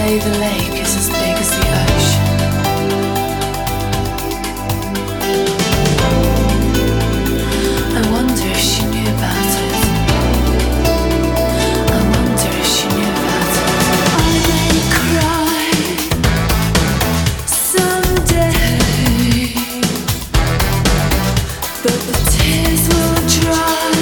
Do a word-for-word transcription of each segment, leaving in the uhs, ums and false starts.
say the lake is as big as the ocean. I wonder if she knew about it. I wonder if she knew about it. I may cry someday, but the tears will dry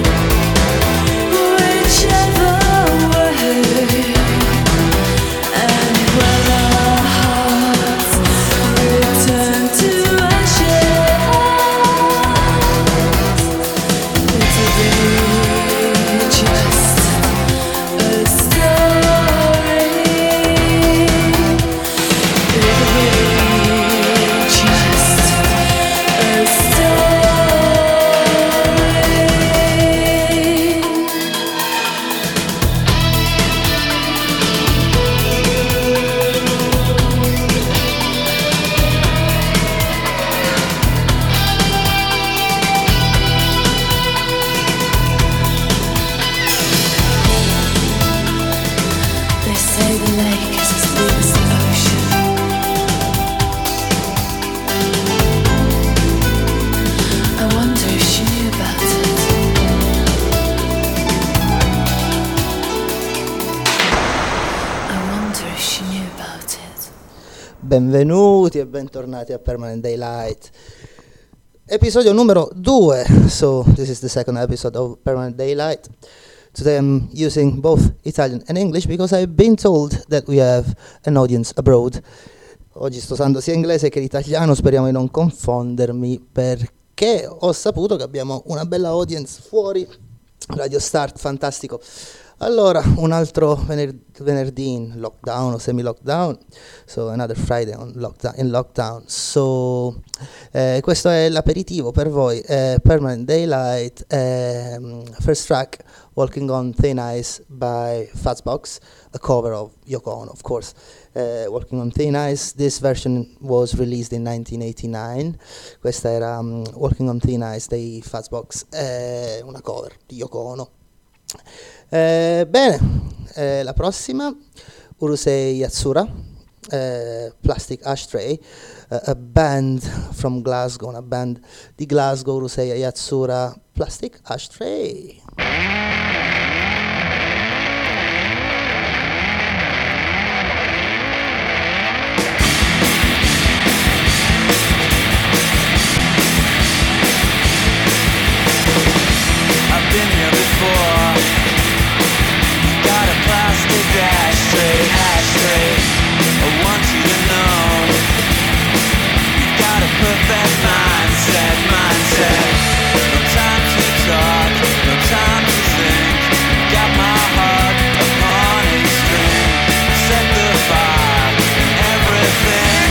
whichever way. And when our hearts return to ashes, it'll be just a story. It'll be just a They say the lake is as big as the ocean. I wonder if she knew about it. I wonder if she knew about it. Benvenuti e bentornati a Permanent Daylight, episodio numero due. So this is the second episode of Permanent Daylight. Today I'm using both Italian and English because I've been told that we have an audience abroad. Oggi sto usando sia inglese che l'italiano, speriamo di non confondermi, perché ho saputo che abbiamo una bella audience fuori. Radio Start, fantastico. Allora, un altro vener- venerdì in lockdown o semi-lockdown, so another Friday on lockdown, in lockdown. So, eh, questo è l'aperitivo per voi, eh, Permanent Daylight, ehm, first track, Walking on Thin Ice by Fazbox, a cover of Yoko Ono, of course. Uh, Walking on Thin Ice, this version was released in nineteen eighty-nine. Questa era um, Walking on Thin Ice dei Fazbox, eh, una cover di Yoko Ono. Eh, bene, eh, la prossima, Urusei Yatsura, eh, Plastic Ashtray, uh, a band from Glasgow, una band di Glasgow, Urusei Yatsura, Plastic Ashtray. I've been here before. You got a plastic ashtray, ashtray. I want you to know you got a perfect mindset, mindset. No time to talk, no time to think. Got my heart upon a string. Set the fire and everything.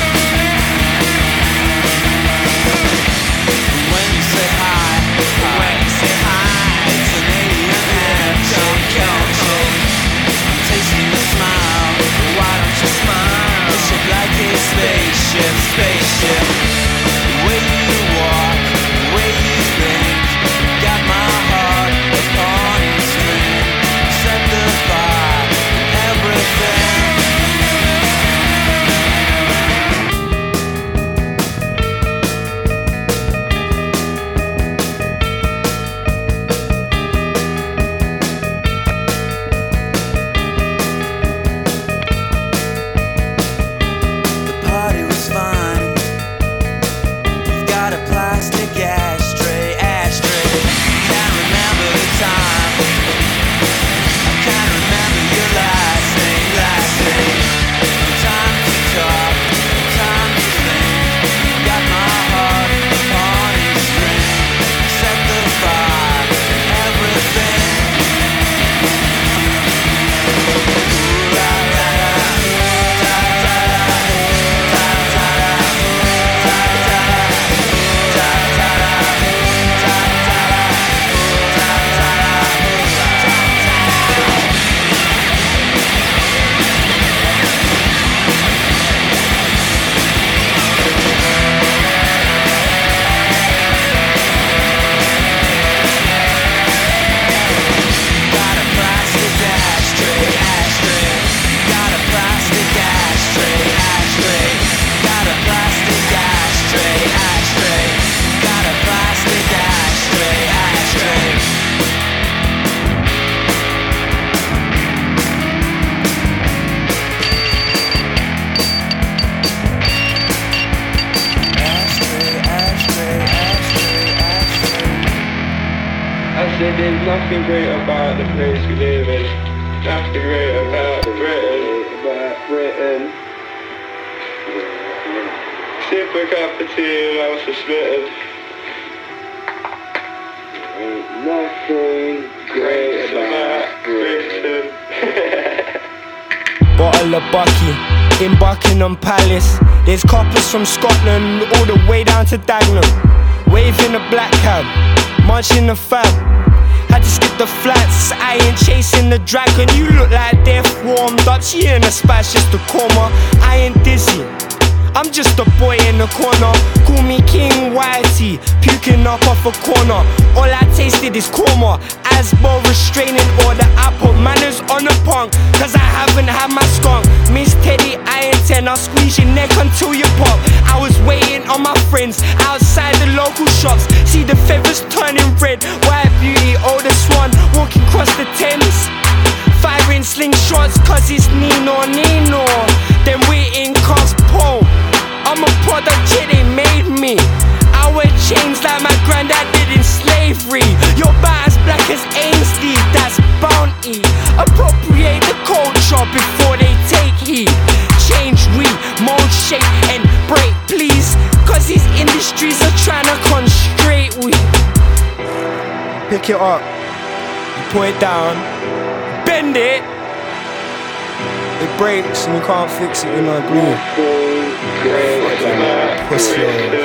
When you say hi, when you say hi, it's an alien handshake. I'm tasting a smile, why don't you smile? It's shaped like a spaceship, spaceship. The way you walk, the way you think, got my heart nothing great about the place we live in. Nothing great about Britain. About Britain. Sip a cup of tea and I was smitten. Ain't nothing great about Britain. Bottle of Bucky in Buckingham Palace. There's coppers from Scotland all the way down to Dagenham. Waving a black cab, munching the fab. Had to skip the flats, I ain't chasing the dragon. You look like death warmed up. She in a spat's just a coma. I ain't dizzy, I'm just a boy in the corner. Call me King Whitey, puking up off a corner. All I tasted is korma, Asbo restraining order. I put manners on the punk, cause I haven't had my skunk. Miss Teddy, I ain't ten, I'll squeeze your neck until you pop. I was waiting on my friends outside the local shops. See the feathers turning red, white beauty, oldest one, walking across the Thames. Firing slingshots cause it's Nino Nino. Then we in cars pole. I'm a product, yeah, they made me. I wear chains like my granddad did in slavery. Your bat as black as Ainsley, that's bounty. Appropriate the culture before they take heed. Change, we, mold, shape and break, please. Cause these industries are trying to constrain we. Pick it up, you put it down, bend it. It breaks and you can't fix it with no glue. Pussy.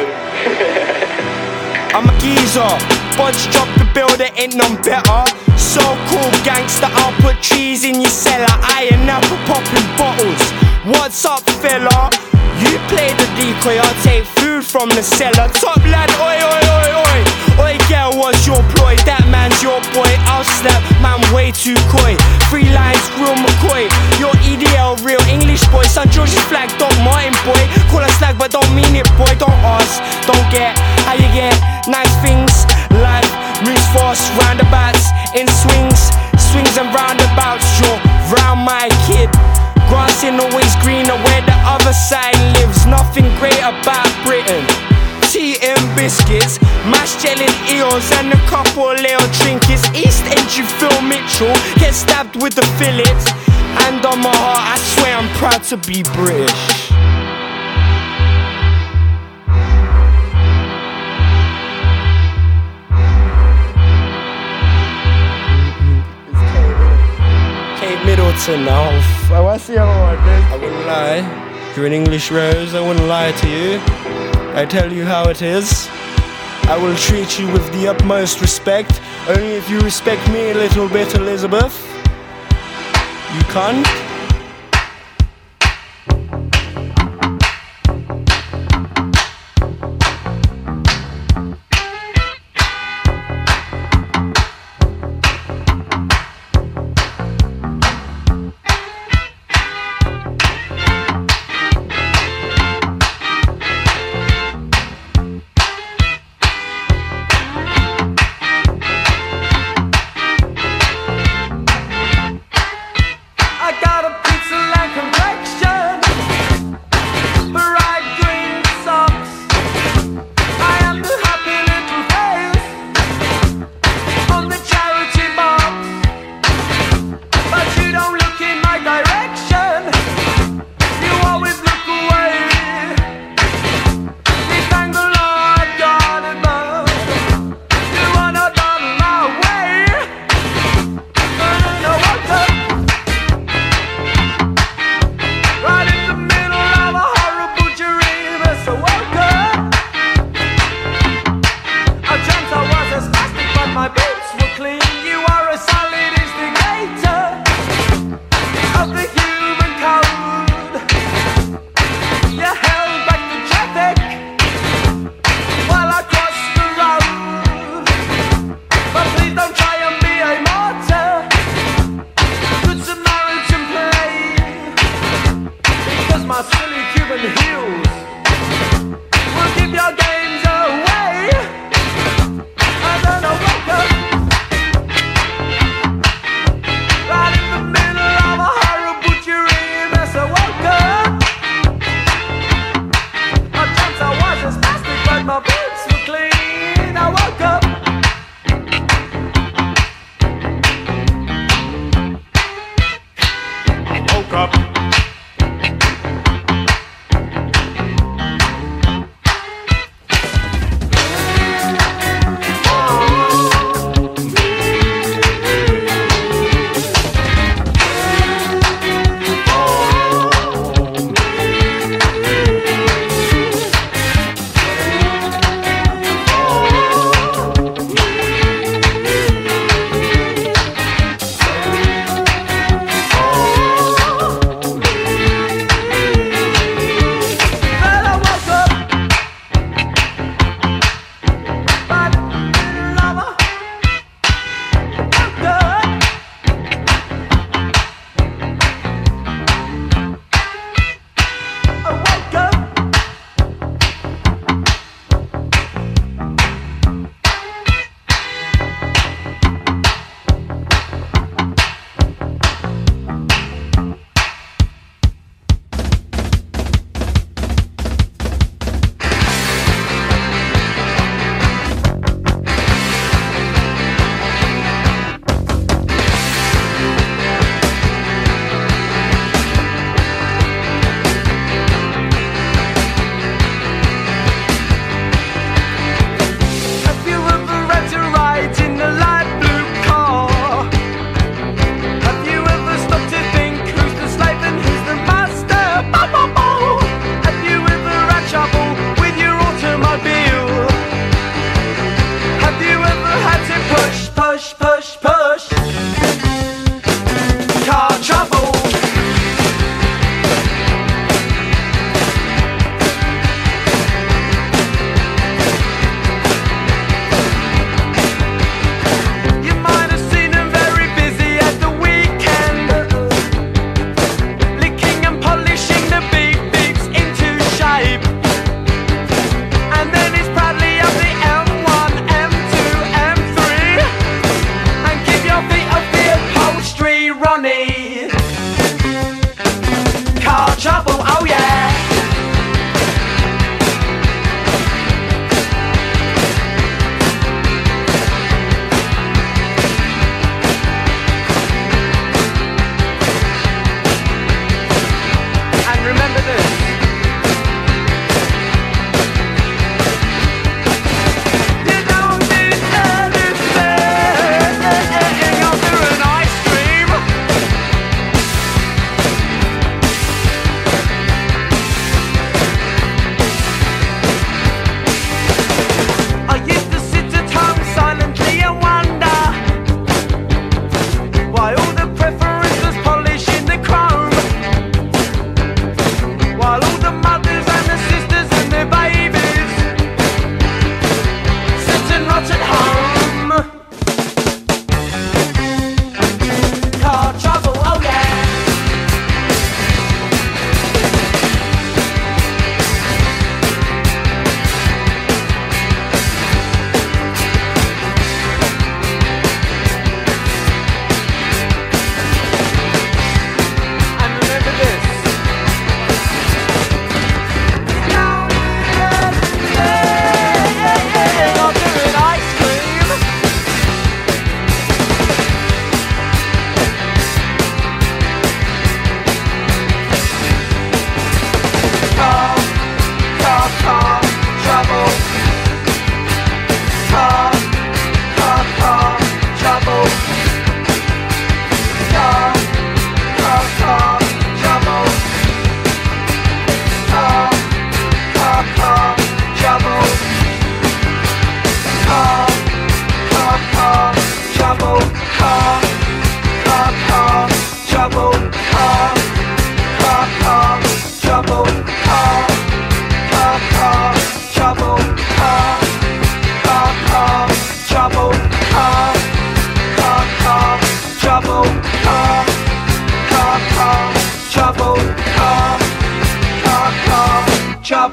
I'm a geezer, Budge drop the bill, there ain't none better. So cool gangster, I'll put trees in your cellar. I ain't never popping bottles. What's up fella? You play the decoy, I'll take food from the cellar. Top lad, oi oi oi oi. Oi girl, what's your ploy? That man's your boy, I'll slap, man way too coy. Three lines, real McCoy. Your E D L, real English boy. Son George's flag, Doc Martin boy. Call us slag but don't mean it boy. Don't ask, don't get, how you get nice things. Life moves fast, roundabouts in swings. Swings and roundabouts, you're round my kid. Grass ain't always greener where the other side lives. Nothing great about Britain. Tea and biscuits, mashed jelly eels and a couple little trinkets. East End, you Phil Mitchell, get stabbed with the fillets. And on my heart, I swear I'm proud to be British. Kate Middleton now. Oh, I see how I did. I wouldn't lie. You're an English rose, I wouldn't lie to you. I tell you how it is. I will treat you with the utmost respect. Only if you respect me a little bit, Elizabeth. You can't.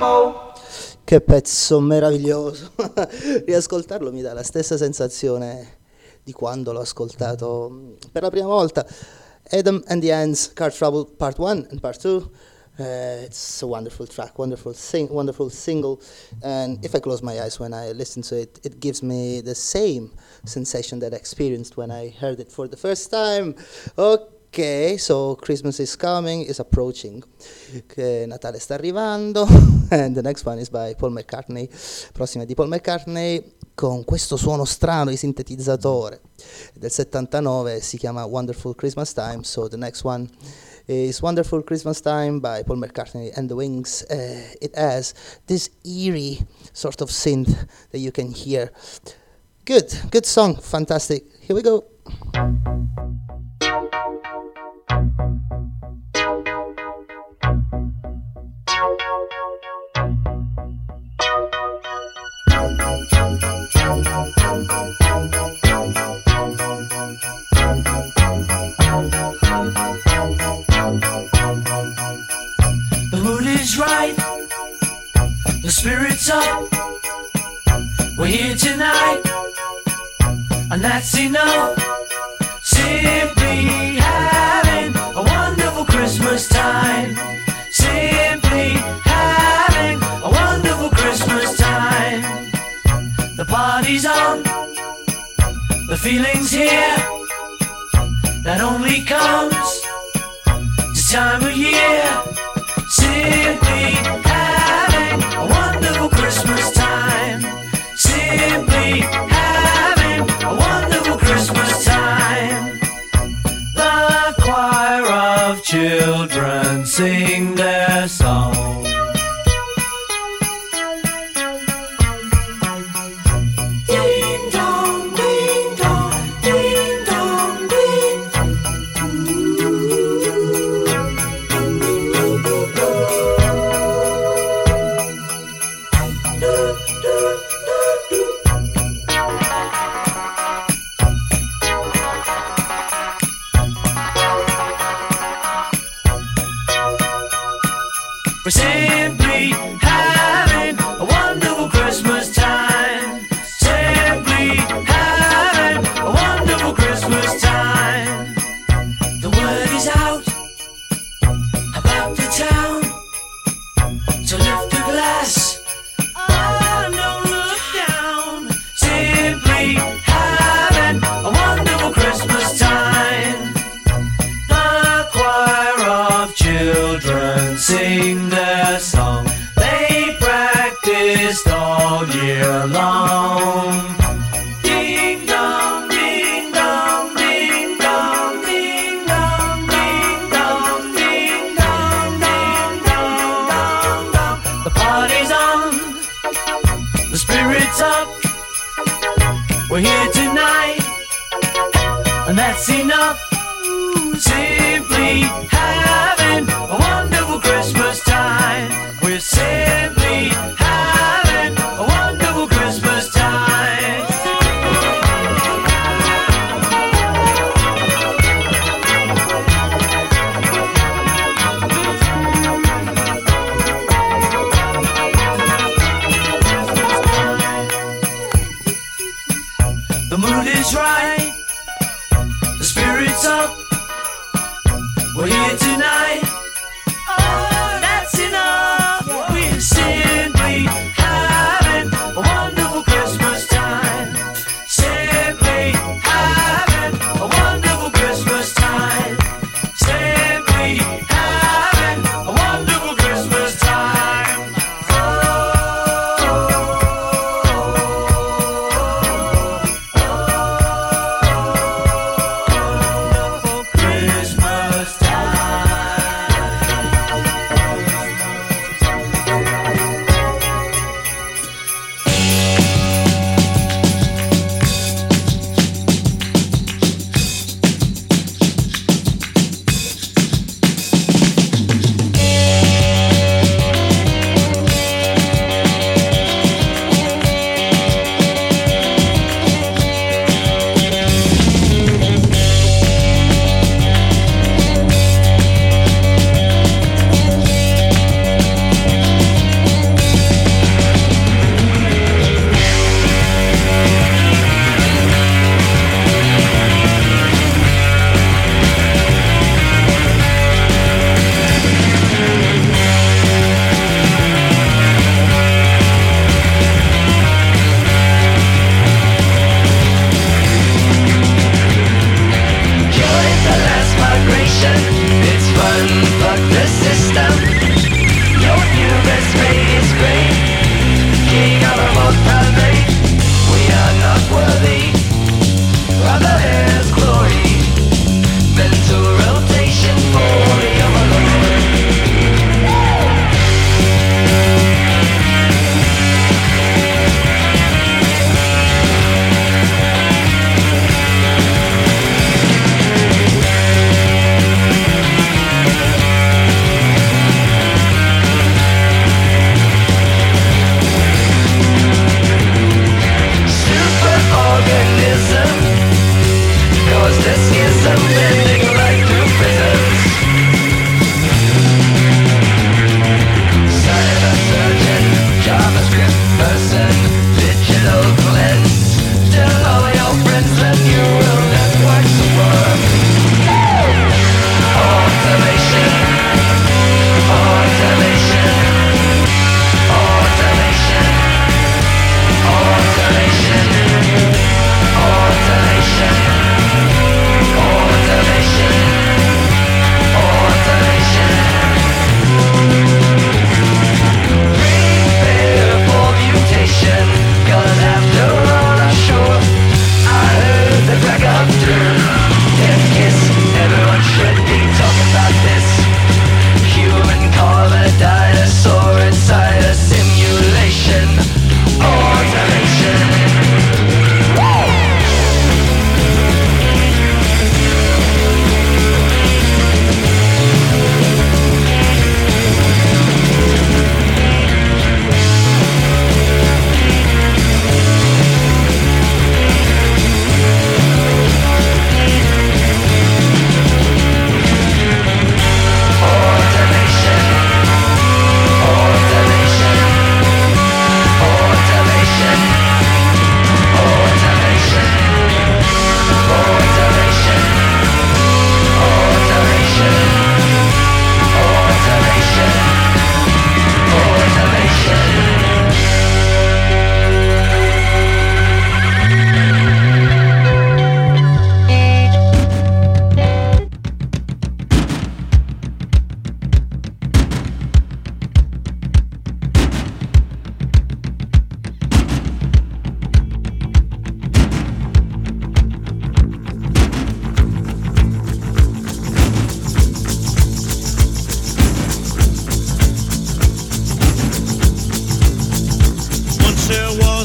mambo. Che pezzo meraviglioso. Riascoltarlo mi dà la stessa sensazione di quando l'ho ascoltato per la prima volta. Adam and the Ants, Car Trouble Part one and Part two. Uh, it's a wonderful track, wonderful sing, wonderful single, and if I close my eyes when I listen to it, it gives me the same sensation that I experienced when I heard it for the first time. Ok, so Christmas is coming, is approaching, che Natale sta arrivando, and the next one is by Paul McCartney, prossima è di Paul McCartney, con questo suono strano di sintetizzatore, del settantanove, si chiama Wonderful Christmas Time, so the next one is Wonderful Christmas Time by Paul McCartney and the Wings. Uh, it has this eerie sort of synth that you can hear. Good, good song, fantastic. Here we go. The mood is right, the spirit's up. We're here tonight, and that's enough. Simply having a wonderful Christmas time. Simply having a wonderful Christmas time. The party's on, the feeling's here. That only comes this time of year. Simply having a wonderful Christmas time. Simply having a wonderful Christmas time. The choir of children sing their song. Ding dong, ding dong, ding dong, ding. We're simply having a wonderful Christmas time. Simply having a wonderful Christmas time. The word is out about the town, so lift a glass. Oh, don't look down. Simply having a wonderful Christmas time. The choir of children sing their song. They practiced all year long. Ding dong, ding dong, ding dong, ding dong, ding dong, ding dong, ding dong, dong, dong. The party's on, the spirit's up. We're here tonight, and that's enough. Simply having a wonderful Christmas time. We're simply having a wonderful Christmas time. The mood is right, the spirit's up. We're here tonight. Oh, that's enough. We're simply having a wonderful Christmas time. Simply having a wonderful Christmas time. Simply having a wonderful Christmas time. Oh, oh, oh, oh.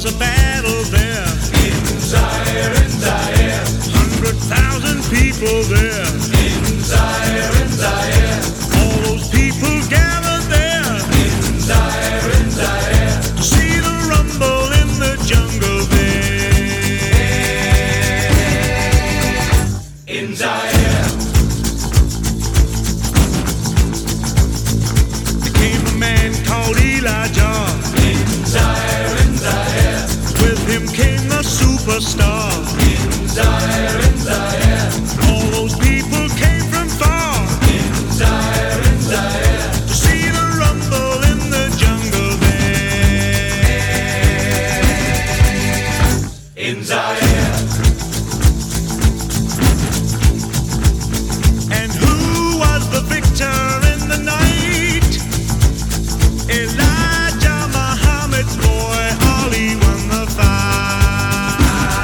a battle there. In Zaire, in Zaire. Hundred thousand people there. In Zaire, in Zaire. All those people gathered there. In Zaire, in Zaire. To see the rumble in the jungle there. In Zaire. There came a man called Elijah. In Zaire, in Zaire. With him came the superstar. In Zaire, in Zaire. All those people came from far. In Zaire, in Zaire. To see the rumble in the jungle there. In Zaire. And who was the victor in the night? Elijah Muhammad's boy, Ali won the fight.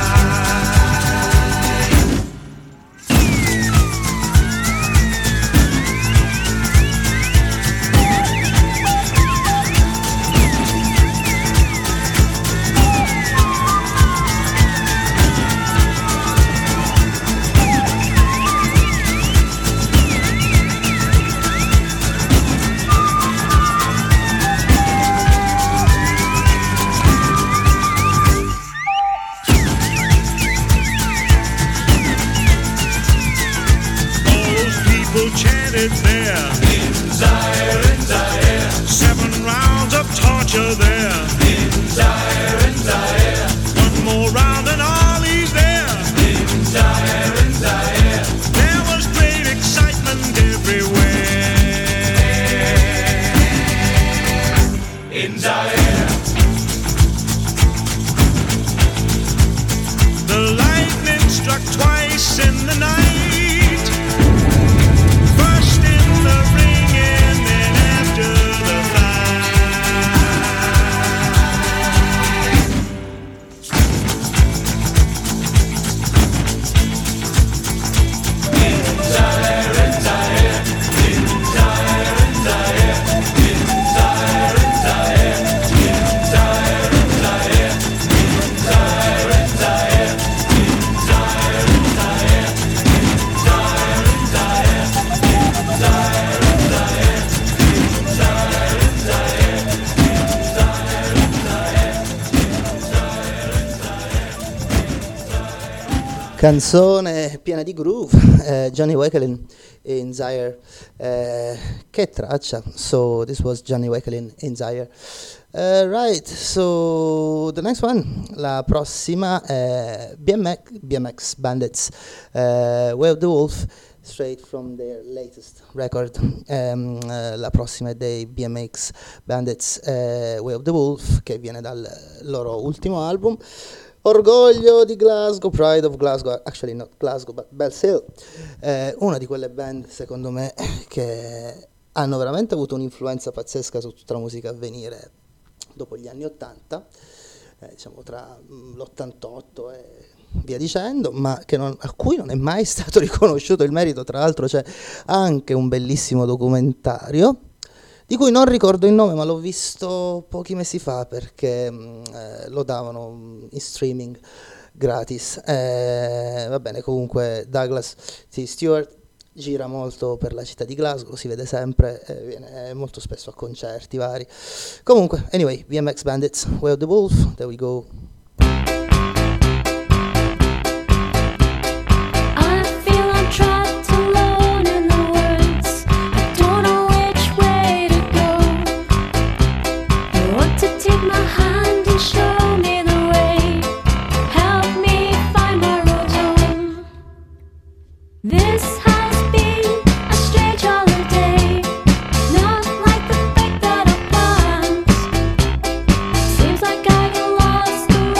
All those people chanted there. In Zaire, in Zaire. Seven rounds of torture there. In Zaire, in Zaire. One more round and Ali's there. In Zaire, in Zaire. There was great excitement everywhere. In Zaire. The lightning struck twice in the night. First in the ring and then after the fight. In Zaire, in Zaire. In Zaire, in Zaire. In Zaire, in Zaire. In Zaire, in Zaire. In Zaire, in Zaire. In Zaire, in Zaire. In Zaire, in Zaire. In Zaire, in Zaire. In Zaire, in Zaire. Canzone piena di groove, eh, Johnny Wakelin in Zaire. Eh, che traccia. So this was Johnny Wakelin in Zaire. Uh, right, so the next one, la prossima è B M X, B M X Bandits, uh, Way of the Wolf, straight from their latest record. Um, uh, la prossima è dei B M X Bandits, uh, Way of the Wolf, che viene dal loro ultimo album. Orgoglio di Glasgow, Pride of Glasgow, actually not Glasgow but Bells Hill, eh, una di quelle band secondo me che hanno veramente avuto un'influenza pazzesca su tutta la musica a venire dopo gli anni ottanta, eh, diciamo tra mh, l'ottantotto e via dicendo, ma che non, a cui non è mai stato riconosciuto il merito. Tra l'altro c'è anche un bellissimo documentario di cui non ricordo il nome, ma l'ho visto pochi mesi fa perché mh, eh, lo davano in streaming gratis. Eh, va bene, comunque Douglas T. Stewart gira molto per la città di Glasgow, si vede sempre, eh, viene molto spesso a concerti vari. Comunque, anyway, B M X Bandits, Way of the Wolf, there we go. This has been a strange holiday, not like the fact that I planned. Seems like I've lost the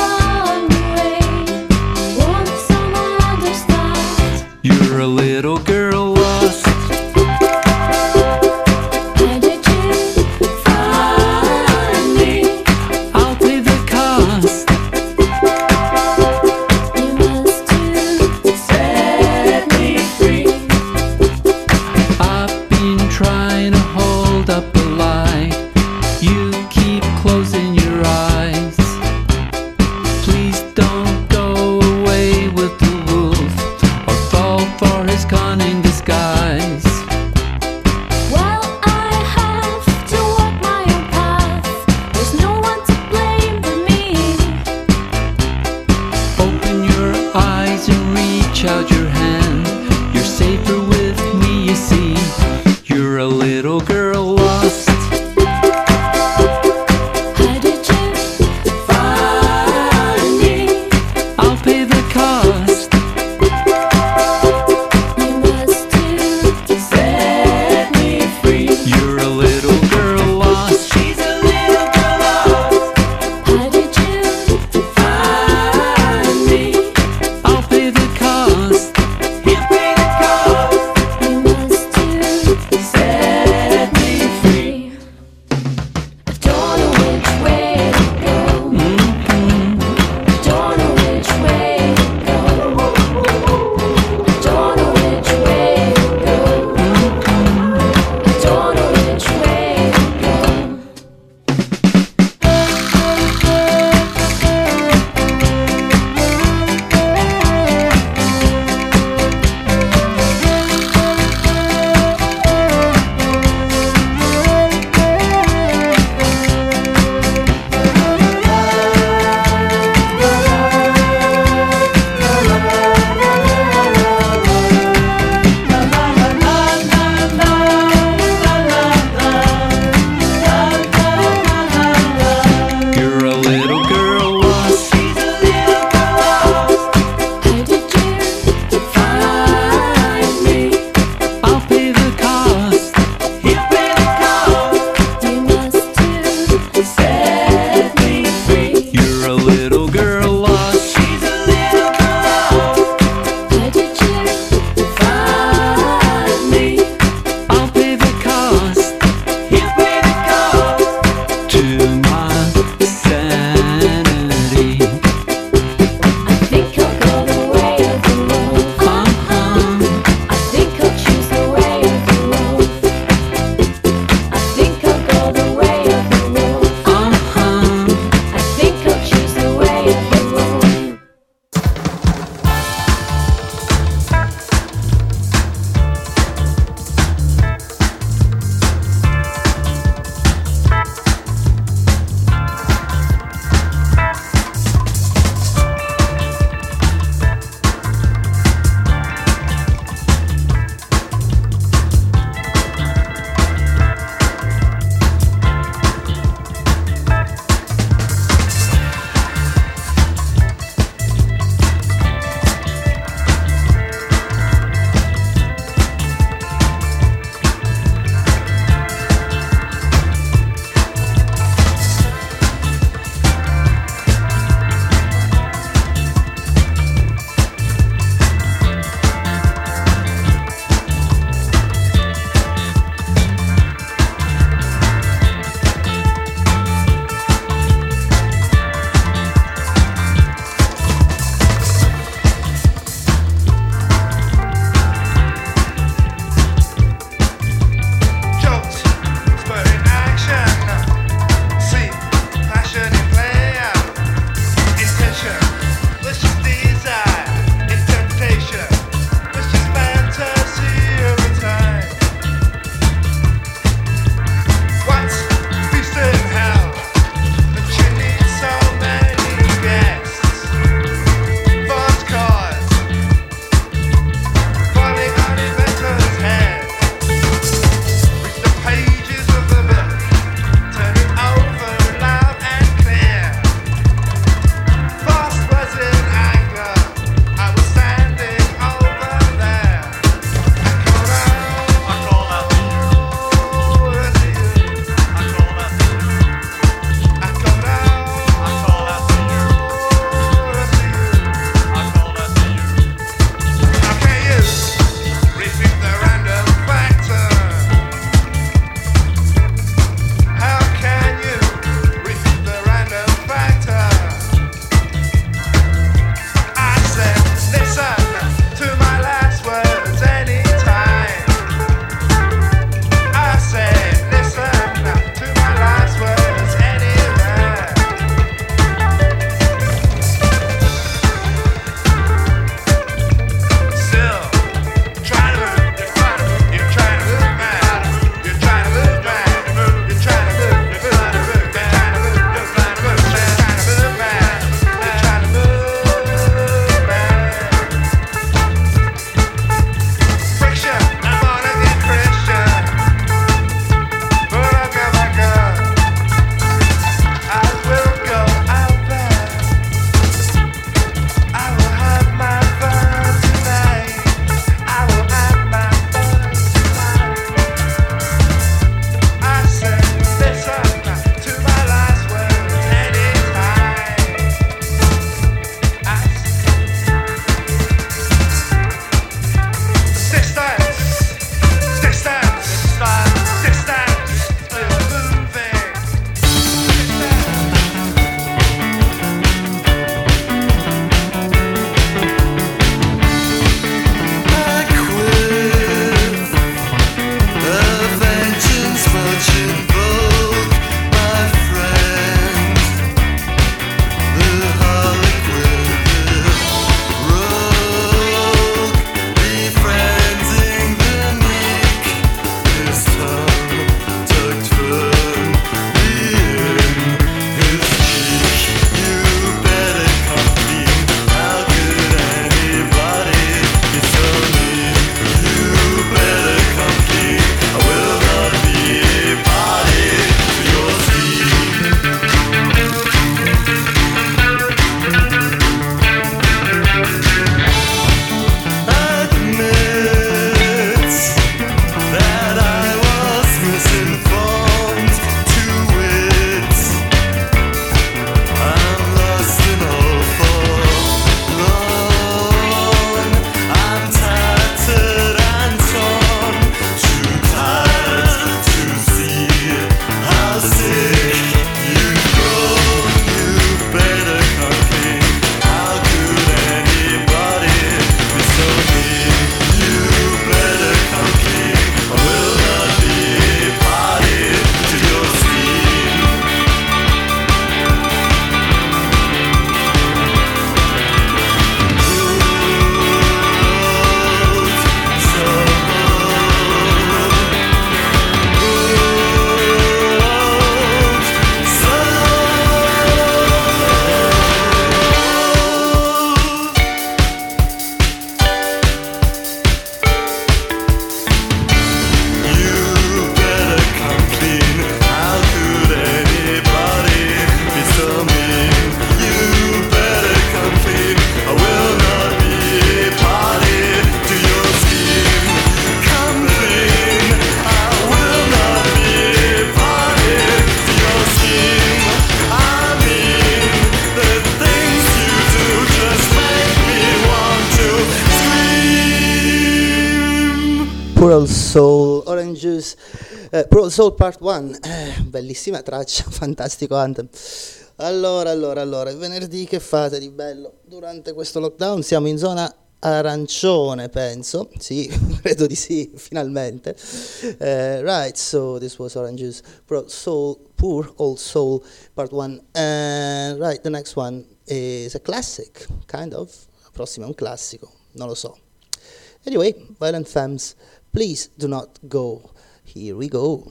Poor Old Soul, Orange Juice, eh, Poor Old Soul Part uno, eh, bellissima traccia, fantastico anthem. Allora, allora, allora, venerdì che fate di bello? Durante questo lockdown siamo in zona arancione, penso, sì, credo di sì, finalmente. Uh, right, so this was Orange Juice, Poor Old Soul, Poor Old Soul Part one. Uh, right, the next one is a classic, kind of. La prossima è un classico, non lo so. Anyway, Violent Femmes, Please Do Not Go. Here we go.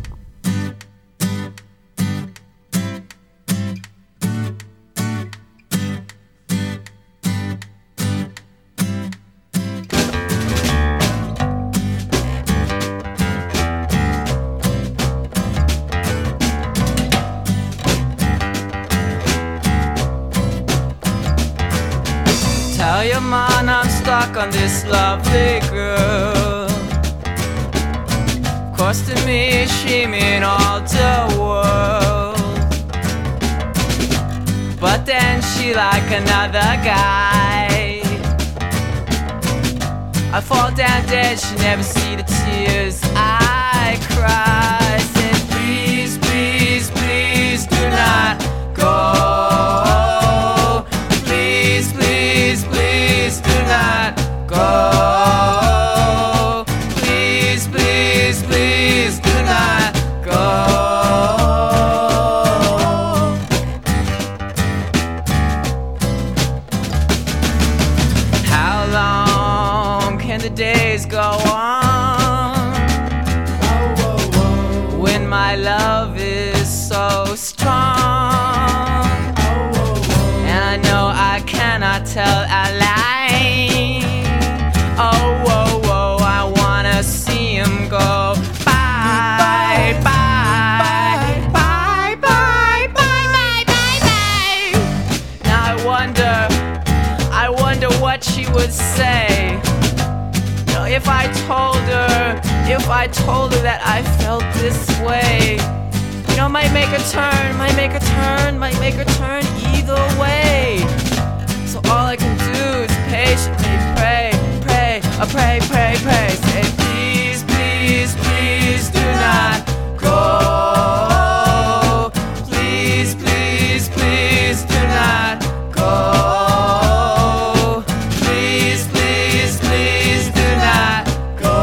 Tell your man I'm stuck on this lovely girl, costing me, she mean all the world. But then she like another guy. I fall down dead, she never see the tears I cry. Said please, please, please do not go. Please, please, please do not go. Please, please, please do not go. How long can the days go on when my love is so strong? And I know I cannot tell a lie. Oh, whoa, whoa, I wanna see him go. Bye, bye, bye, bye, bye, bye, bye, bye. Now I wonder, I wonder what she would say. You know, if I told her, if I told her that I felt this way. You know, might make a turn, might make a turn, might make a turn either way. So all I can do is patiently pray, pray, I pray, pray, pray. Say please, please, please do not go. Please, please, please do not go. Please, please, please do not go.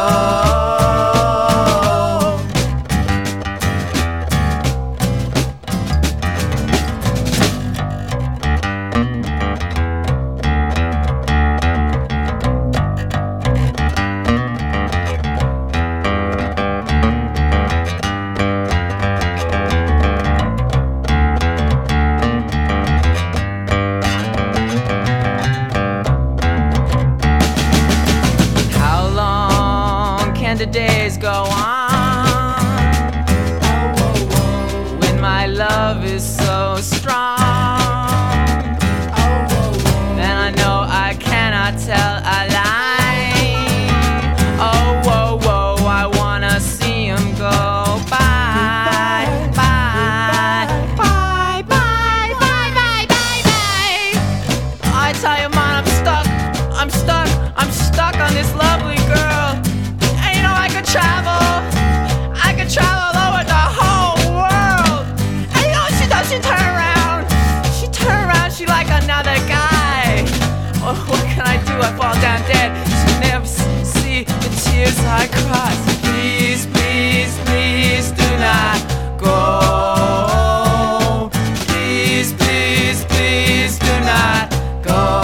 How long can the days go on when my love is so strong? And I know I cannot tell a lie. Oh, whoa, whoa, I wanna see him go. Bye, bye, bye, bye, bye, bye, bye, bye. I tell you, man, I'm stuck, I'm stuck, I'm stuck on this lovely girl. And you know, I could travel, I could travel over the whole world. And you know what she does? She turn around, she turn around, she like another guy. Oh, what can I do? I fall down dead. She never s- see the tears I cry. So please, please, please do not go. Please, please, please do not go.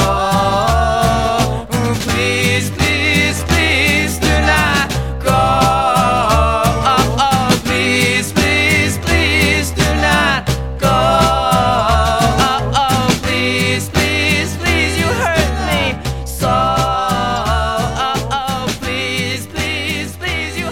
Please, please, please do not go. Oh, oh, please, please, please do not go. Oh, oh, please, please, please, you hurt me so. Oh, oh, please, please, please, you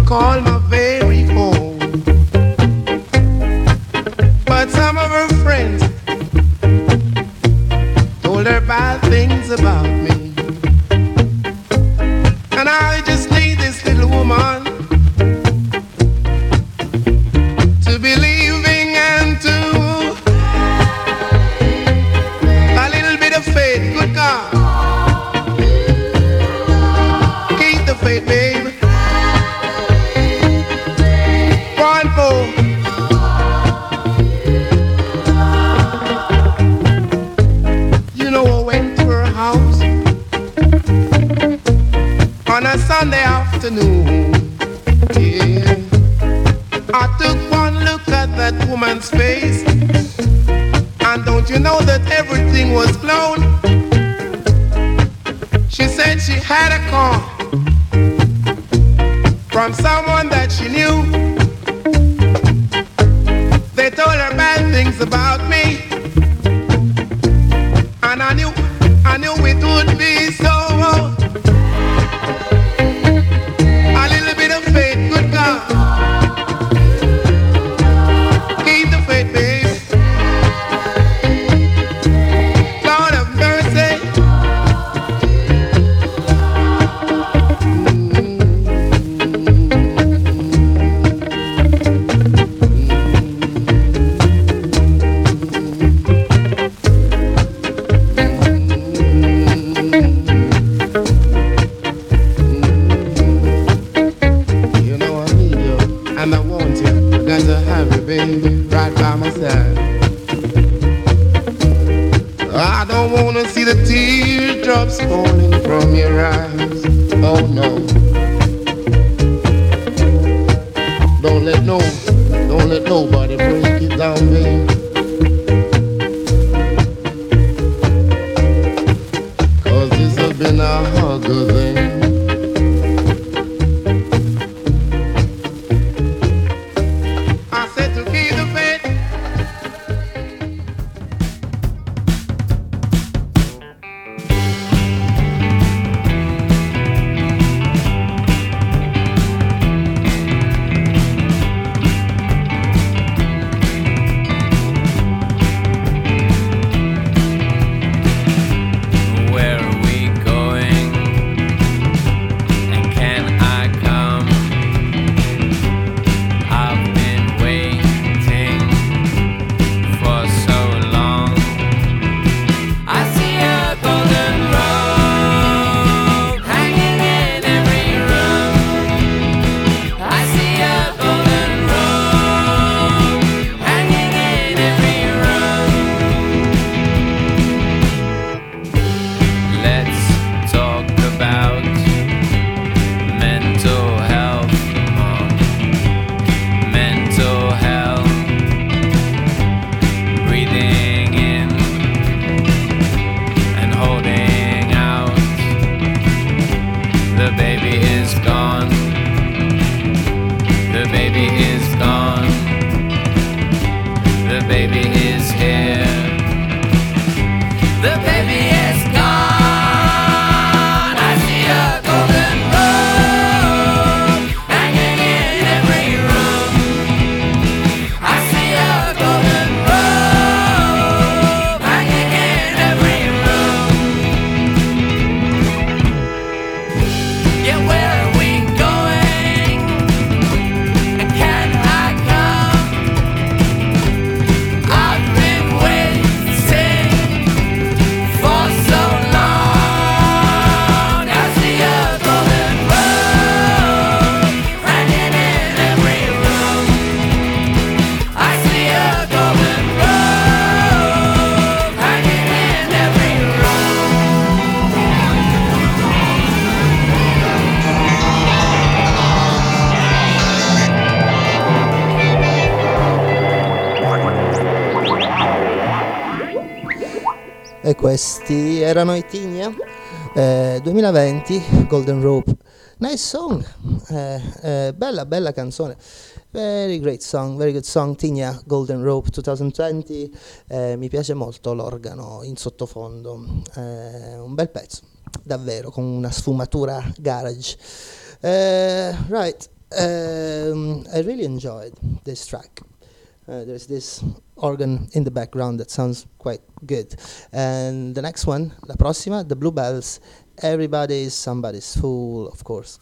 call my very own. But some of her friends told her bad things about me. And I just need this little woman to believing and to a little bit of faith. Good God, keep the faith, baby. One more. You know I went to her house on a Sunday afternoon. Yeah. I took one look at that woman's face, and don't you know that everything was blown? She said she had a call from someone that she knew. They told her bad things about me, and I knew, I knew it would be so. A little bit of faith, good God. Keep the faith, baby. Lord of mercy. You know I need you, and I want you. I got to have you, baby, right by my side. I don't wanna see the teardrops falling from your eyes. Oh no. Don't let no, don't let nobody break it down, baby. Cause this has been a hugger thing. I said to keep the faith. Where are we going? And can I come? I've been waiting for so long. I see a golden robe hanging in every room. I see a golden robe hanging in every room. Let's talk about mental health, Mom. Mental health. Breathing in and holding out. The baby is gone. The baby is gone. The baby is here. The baby is gone. I see a golden robe hanging in every room. I see a golden robe hanging in every room. Yeah, where are we going? And can I come? I've been waiting for so long. I see a golden robe hanging in every room. I see a golden robe hanging in every room. E questi erano i Tinia, eh, duemilaventi, Golden Rope. Nice song, eh, eh, bella bella canzone. Very great song, very good song, Tinia, Golden Rope duemilaventi. Eh, mi piace molto l'organo in sottofondo, eh, un bel pezzo, davvero, con una sfumatura garage. Eh, right, Um, I really enjoyed this track. Uh, there's this organ in the background that sounds quite good. And the next one, la prossima, the Bluebells, Everybody is Somebody's Fool, of course.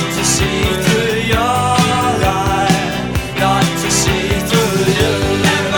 See through your eyes, not to see through you.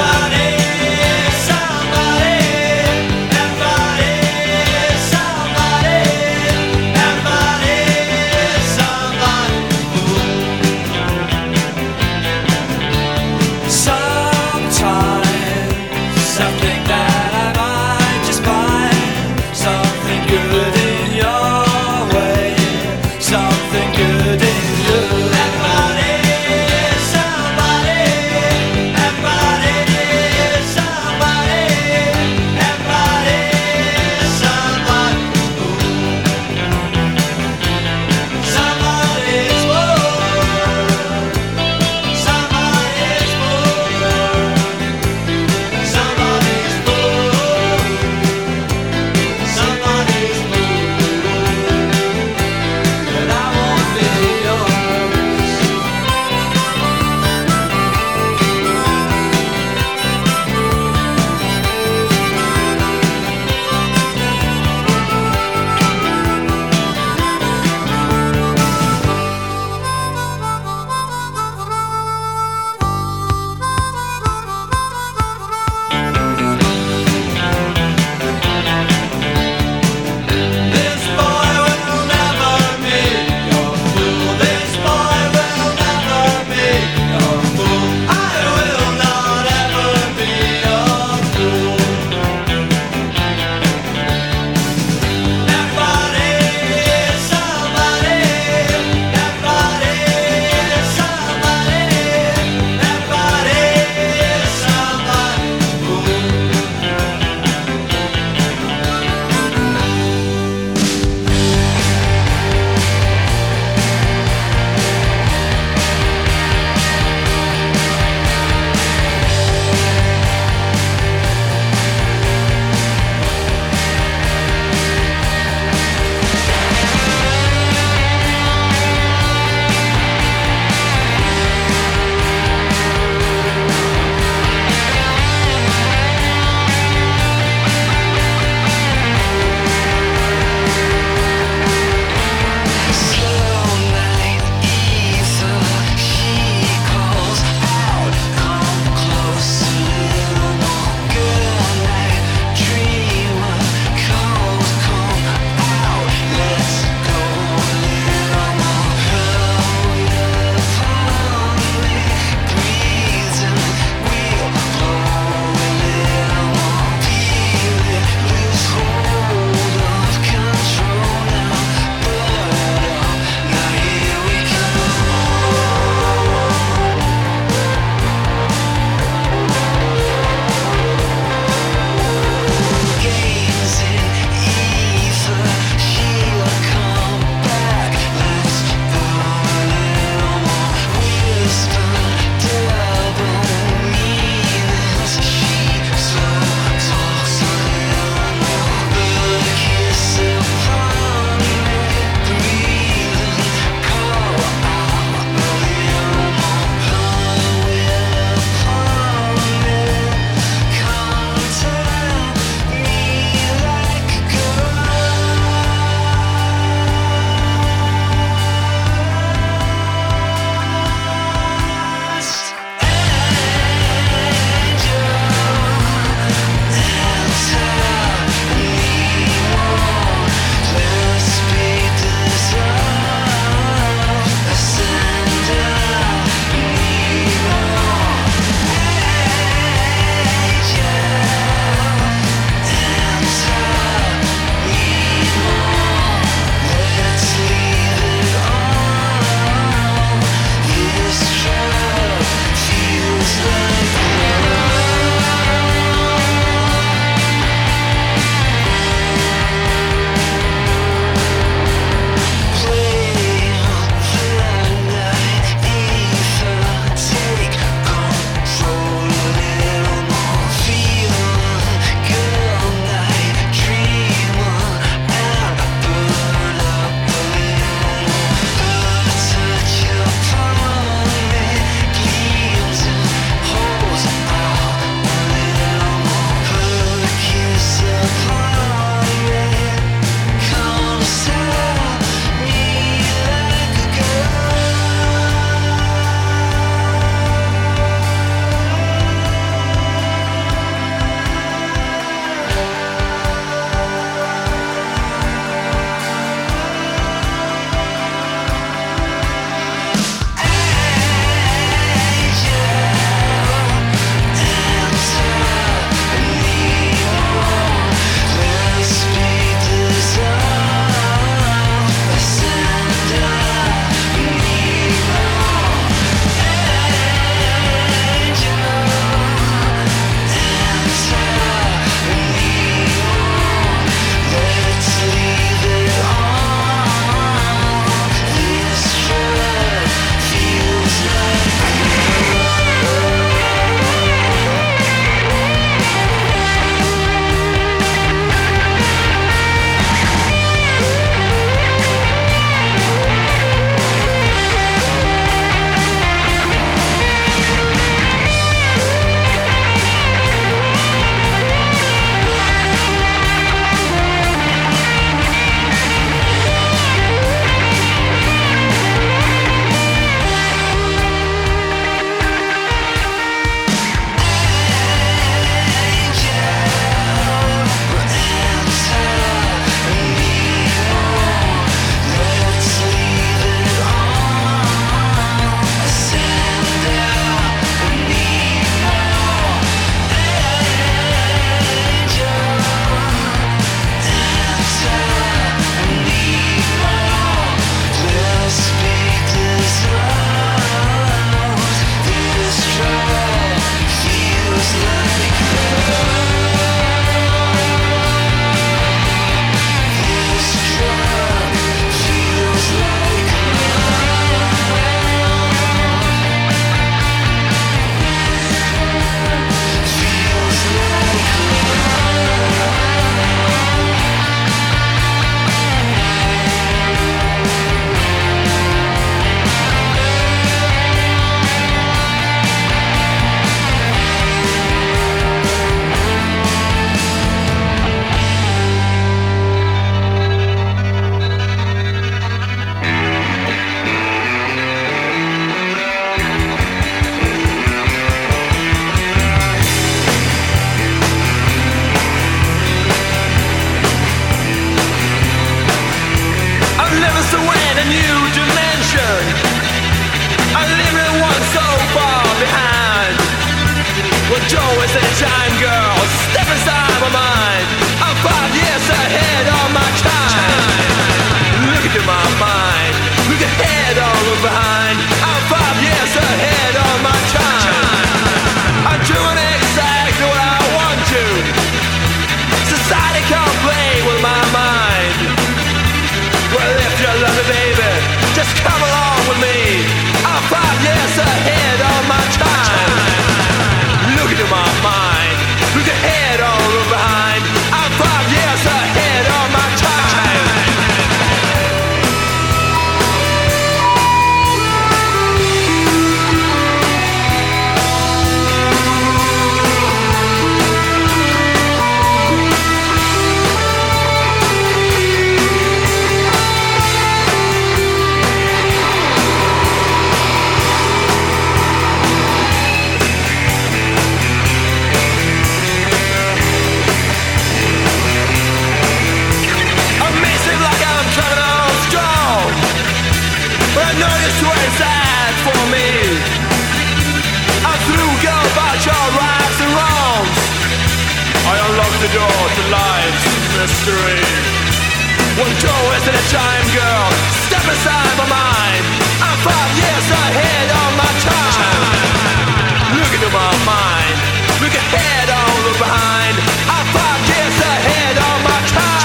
the street. One door isn't a time, girl. Step aside my mind. I'm five years ahead on my time. Look into my mind. Look ahead, all look behind. I'm five years ahead on my time.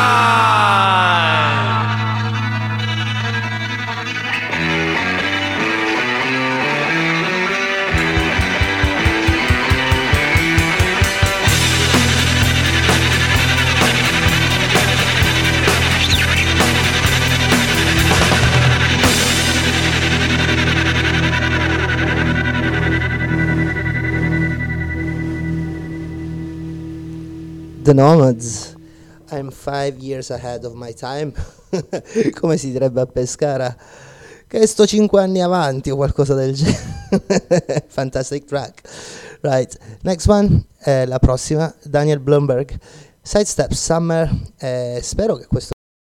The Nomads, I'm five years ahead of my time. Come si direbbe a Pescara? Che sto cinque anni avanti o qualcosa del genere. Fantastic track. Right, next one, eh, la prossima, Daniel Blumberg, Sidestep Summer. Eh, spero che questo...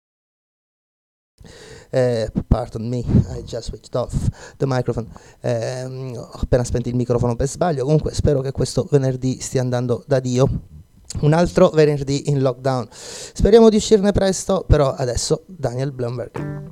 Eh, pardon me, I just switched off the microphone. Eh, ho appena spento il microfono per sbaglio. Comunque spero che questo venerdì stia andando da Dio. Un altro venerdì in lockdown. Speriamo di uscirne presto, però adesso Daniel Blumberg.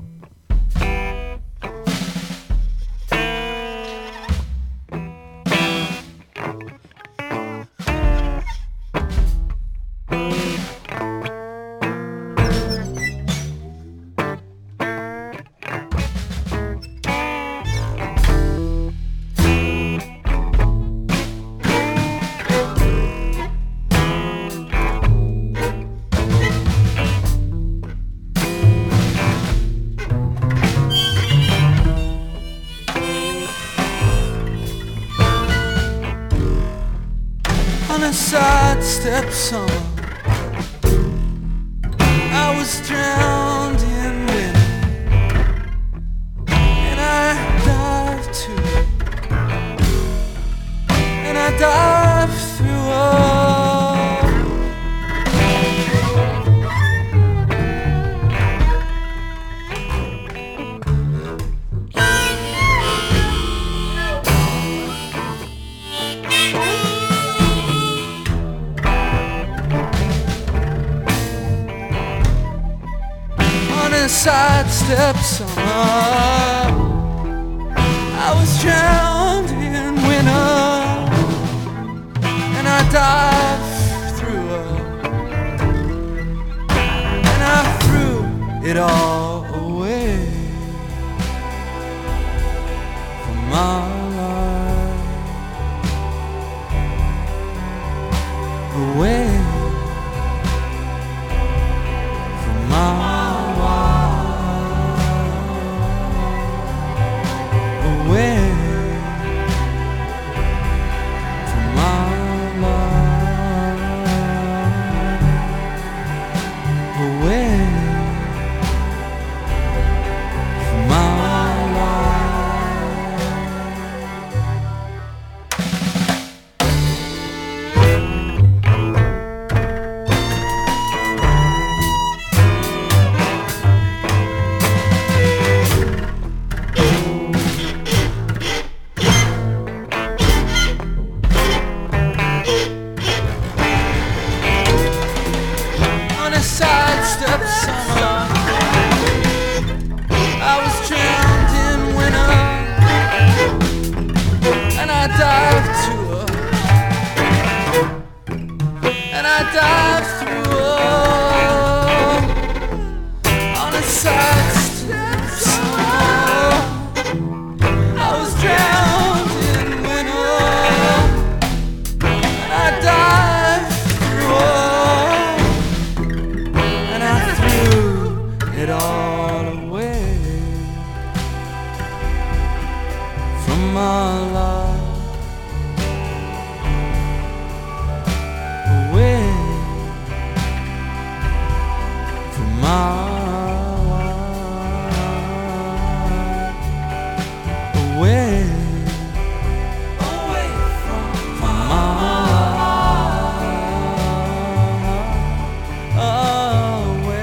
Sidestep summer, I was drowned in wind, and I dived too, and I dived through all. Sidestep summer, I was drowned in winter, and I dived through her, and I threw it all away from my life, away from my life. Away from my life, away from my Sidestep summer, I was drowned in winter, and I dived to her, and I dived through her on a sidestep summer. I was drowned in winter, and I dived through her. It all away from my life, away from my life, away, away from, from my life, away.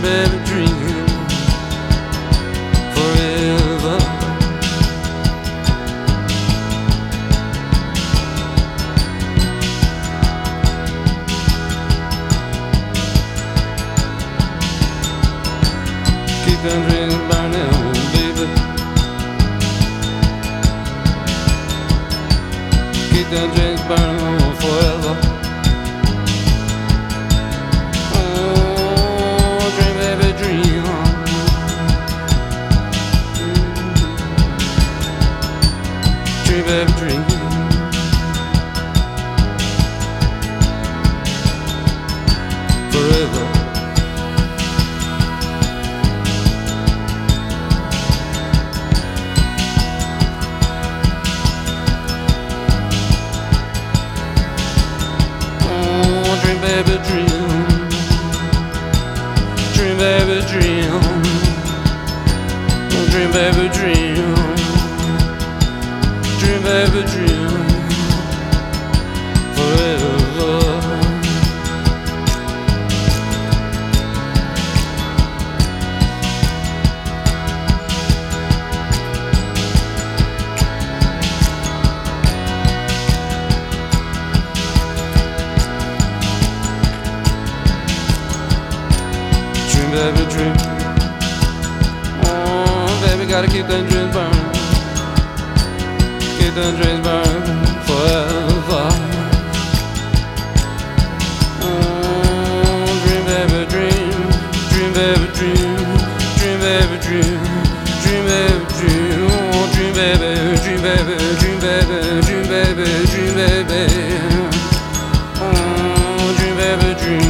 baby, dream forever. Keep them dreams burning, baby. Keep them dreams burning forever. Oh, dream, baby, dream. Dream, baby, dream. Forever. Dream, baby, dream. Dream, baby, dream. Dream, baby, dream. Dream, baby, dream. Forever. Baby, dream. Oh, baby, gotta keep them dreams burning. Keep them dreams burning forever. Oh, dream, baby, dream. Dream, baby, dream. Dream, baby, dream. Dream, baby, dream. Oh, dream, baby, dream, baby, dream, baby, dream, baby, dream, baby. Oh, dream, baby, dream.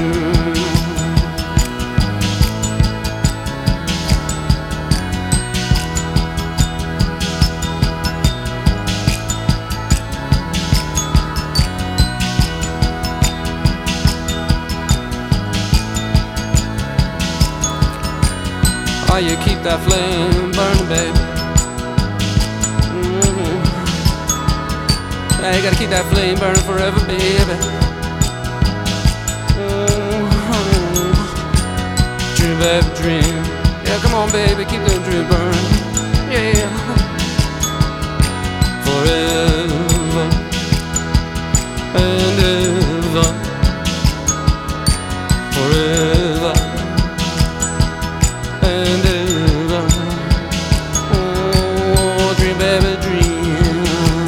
Oh, you keep that flame burning, baby. Mm-hmm. Yeah, you gotta keep that flame burning forever, baby. Mm-hmm. Dream, baby, dream. Yeah, come on, baby, keep that dream burning. Yeah. Forever and ever. Forever. And ever. Oh, dream, baby, dream.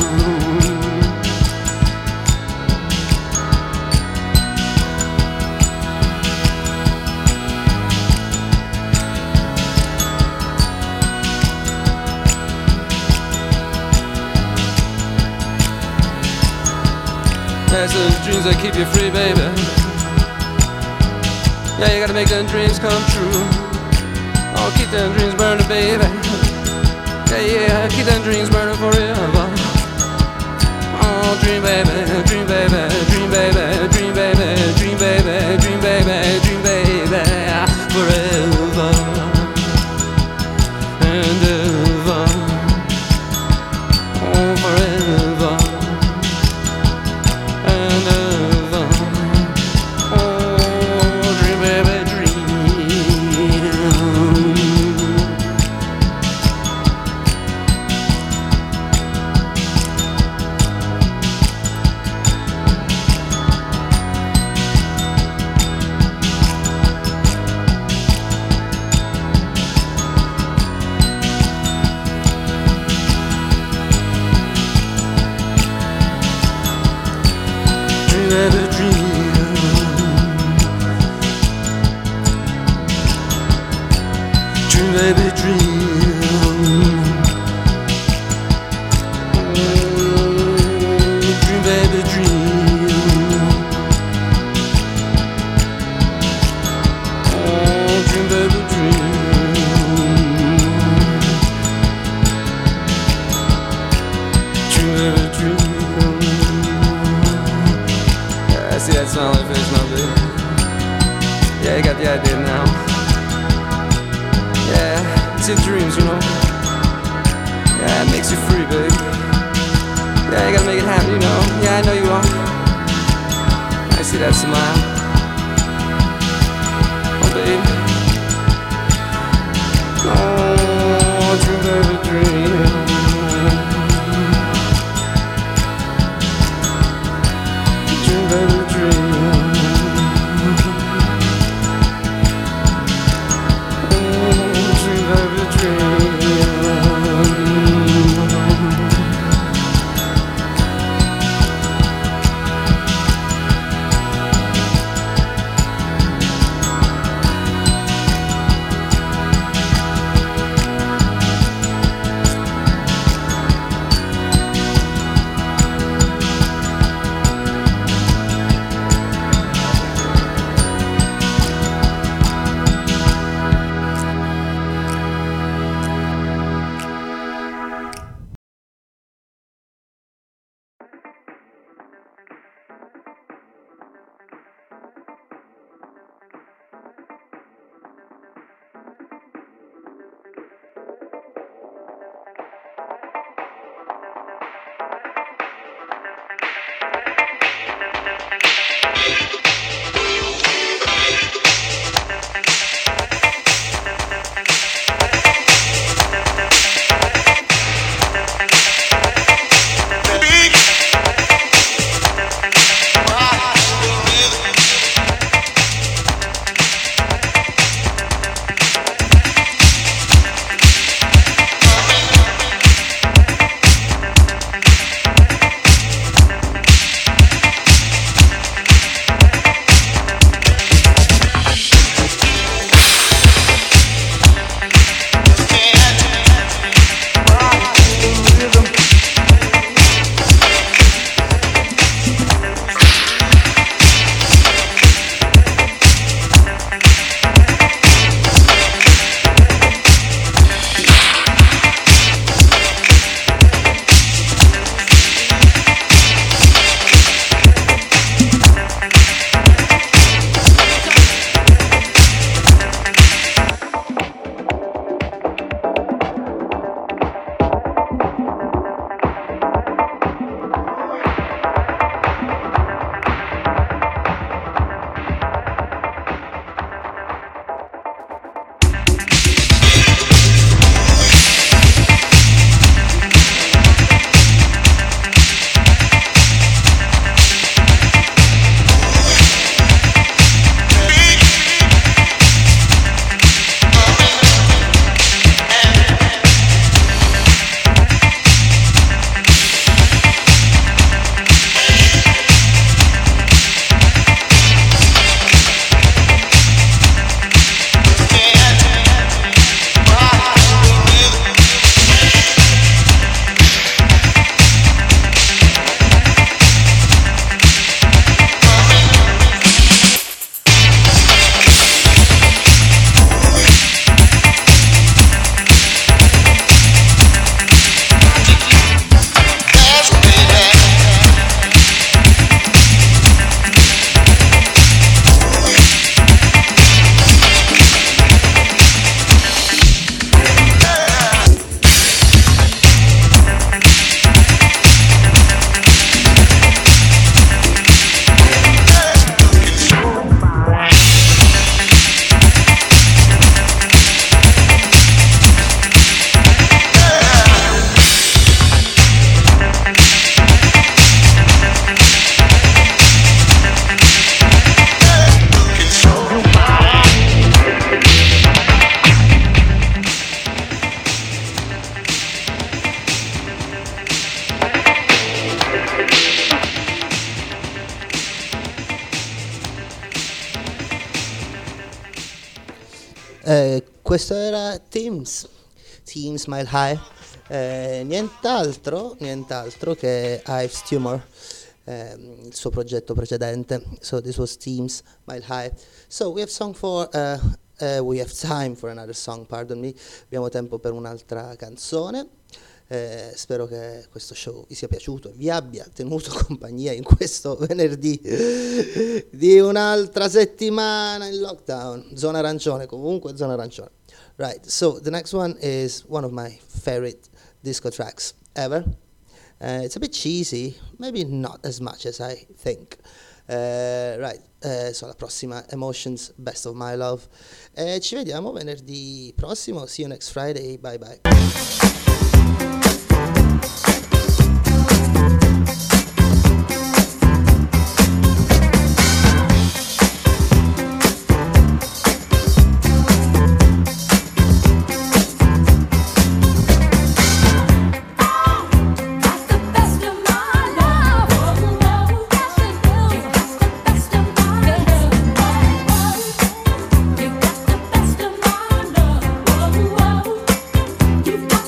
That's those dreams that keep you free, baby. Yeah, you gotta make them dreams come true. Oh, keep them dreams burning, baby. Yeah, yeah, keep them dreams burning forever. Oh, dream, baby, dream, baby, dream, baby, dream, baby, dream, baby, dream, baby, dream, baby, forever and ever. Oh, forever and ever. Oh, dream, baby, dream. Dream, baby, dream. Dream, baby, dream. Mm, dream, baby, dream. Oh, dream, baby, dream. Dream, baby, dream. Yeah, I see that smile on your face now, baby. Yeah, you got the idea now. Yeah, it's in dreams, you know. Yeah, it makes you free, baby. Yeah, you gotta make it happen, you know. Yeah, I know you are. I see that smile. Oh, baby. Eh, questo era Teams, Team Smile High, eh, nient'altro, nient'altro che Ives Tumor, eh, il suo progetto precedente. So this was Teams Smile High. So we have song for, uh, uh, we have time for another song, pardon me. Abbiamo tempo per un'altra canzone. Eh, spero che questo show vi sia piaciuto e vi abbia tenuto compagnia in questo venerdì di un'altra settimana in lockdown. Zona arancione, comunque zona arancione. Right, so the next one is one of my favorite disco tracks ever. Uh, it's a bit cheesy, maybe not as much as I think. Uh, right, uh, so la prossima, Emotions, Best of My Love. E ci vediamo venerdì prossimo. See you next Friday. Bye bye. You've got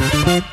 Thank